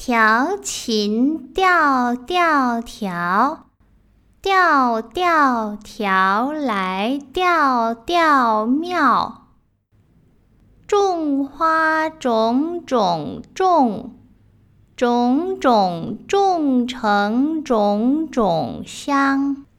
调琴调调调，调调调来调调妙。种花种种种，种种种成种种香。